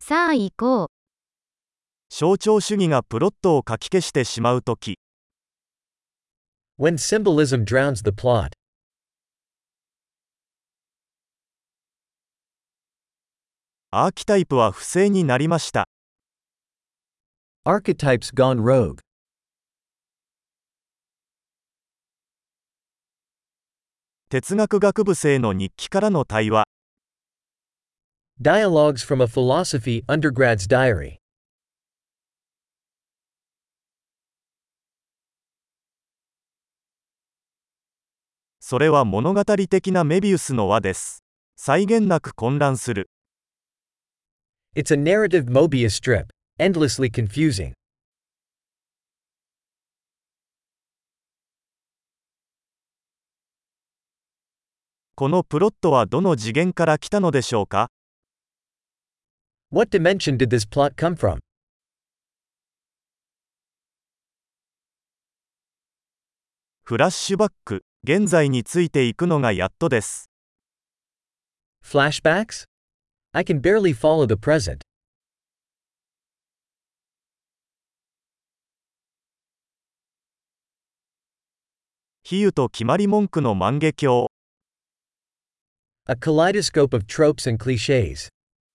さあ行こう。 象徴主義がプロットをかき消してしまうとき、 When symbolism drowns the plot. アーキタイプは不正になりました。 Archetypes gone rogue. 哲学学部生の日記からの対話。 Dialogues from a philosophy undergrad's diary. それは物語的なメビウスの輪です。際限なく混乱する。 It's a narrative Mobius strip. Endlessly confusing. このプロットはどの次元から来たのでしょうか？ What dimension did this plot come from? フラッシュバック、現在についていくのがやっとです。 Flashbacks? I can barely follow the present. 比喩と決まり文句の万華鏡。 A kaleidoscope of tropes and clichés.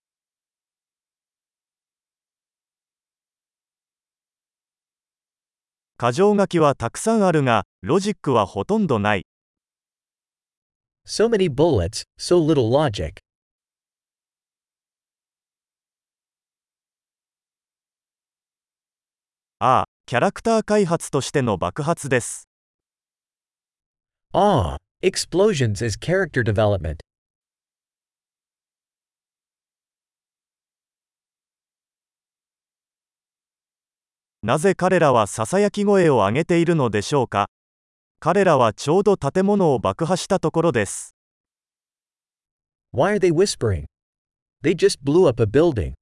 箇条書きはたくさんあるが、ロジックはほとんどない。 So many bullets, so little logic. ああ、キャラクター開発としての爆発です。 Ah, explosions as character development. なぜ彼らはささやき声を上げているのでしょうか？彼らはちょうど建物を爆破したところです。 Why are they whispering? They just blew up a building.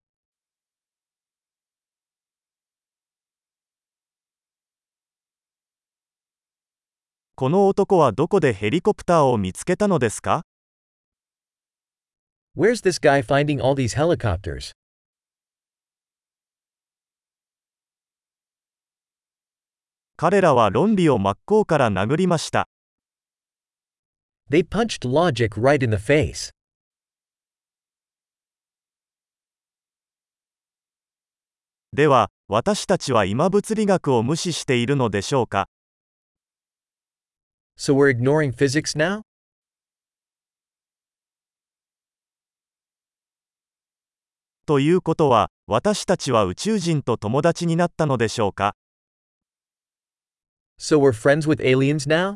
この男はどこでヘリコプターを見つけたのですか？ Where's this guy finding all these helicopters? 彼らは論理を真っ向から殴りました。 They punched logic right in the face. では、私たちは今物理学を無視しているのでしょうか？ So we're ignoring physics now? ということは、私たちは宇宙人と友達になったのでしょうか？ So we're friends with aliens now?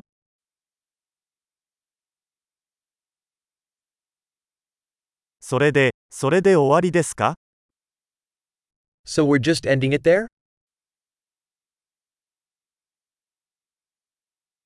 それで終わりですか？ So we're just ending it there?